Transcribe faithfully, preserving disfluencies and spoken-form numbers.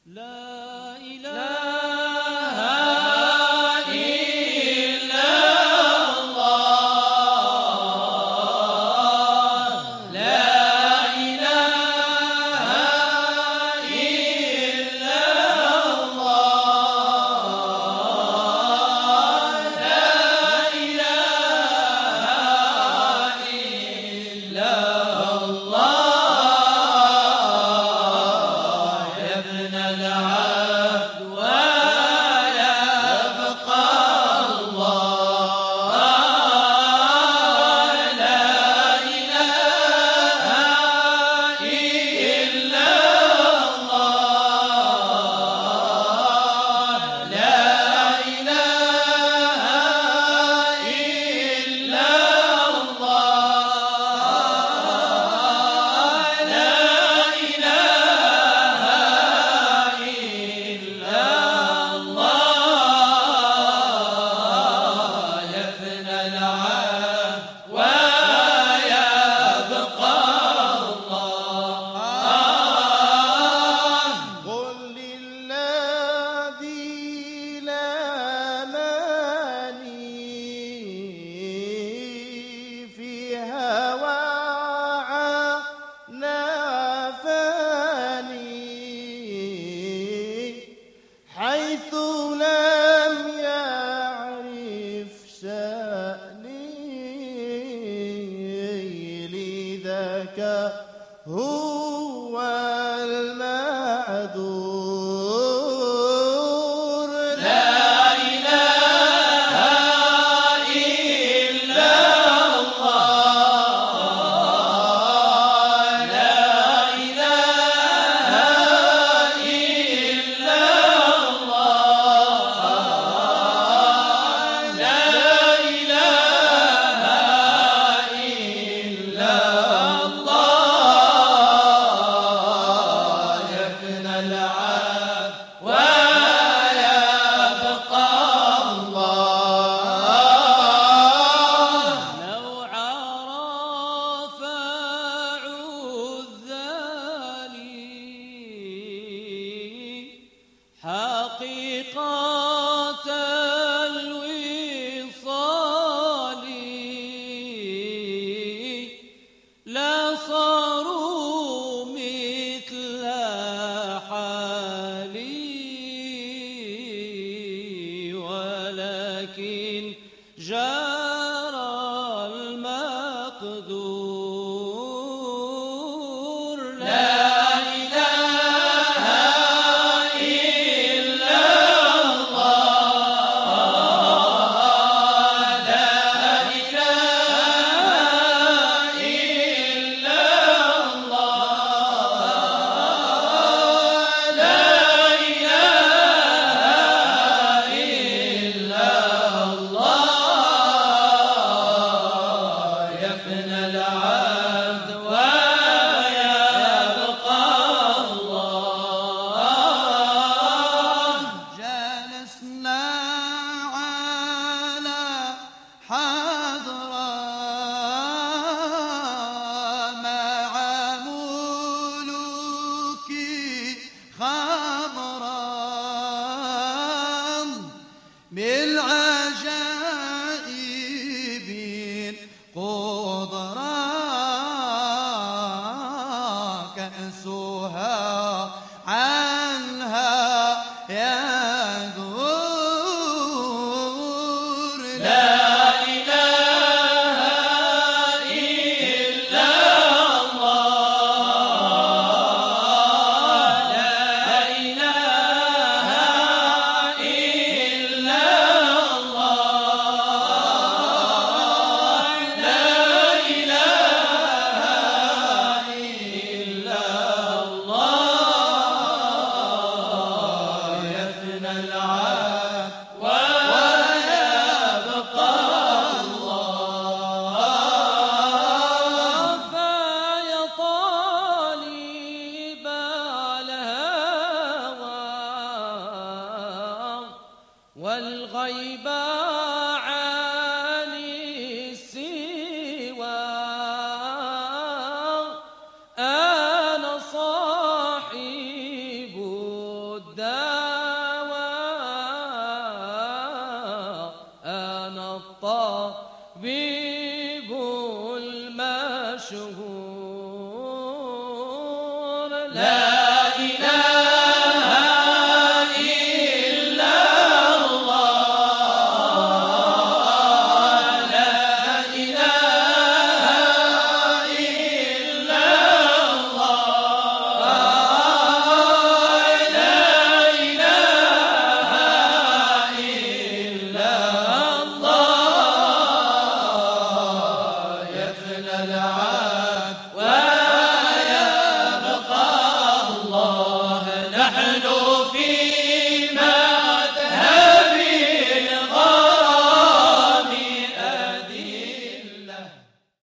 هو المعذور. لا إله إلا الله، لا إله إلا الله، لا إله إلا الله، يفنى العهد ويبقى الله. لو عرف عذالي حقيقة الوصال لا صاروا مثل حالي، ولكن جرى المقدور. لا إله إلا الله، لا إله إلا الله، لا إله إلا الله، يفنى العهد ويبقى الله. جلسنا على حضرة مع ملوك خضرا بالعجائب قدرا كأسها عنها يدور. لا إله إلا الله، لا إله إلا الله، لا إله إلا الله، يفنى العهد ويبقى الله. فيا طالب الهوى والغيب عن السوى، أنا صاحب لا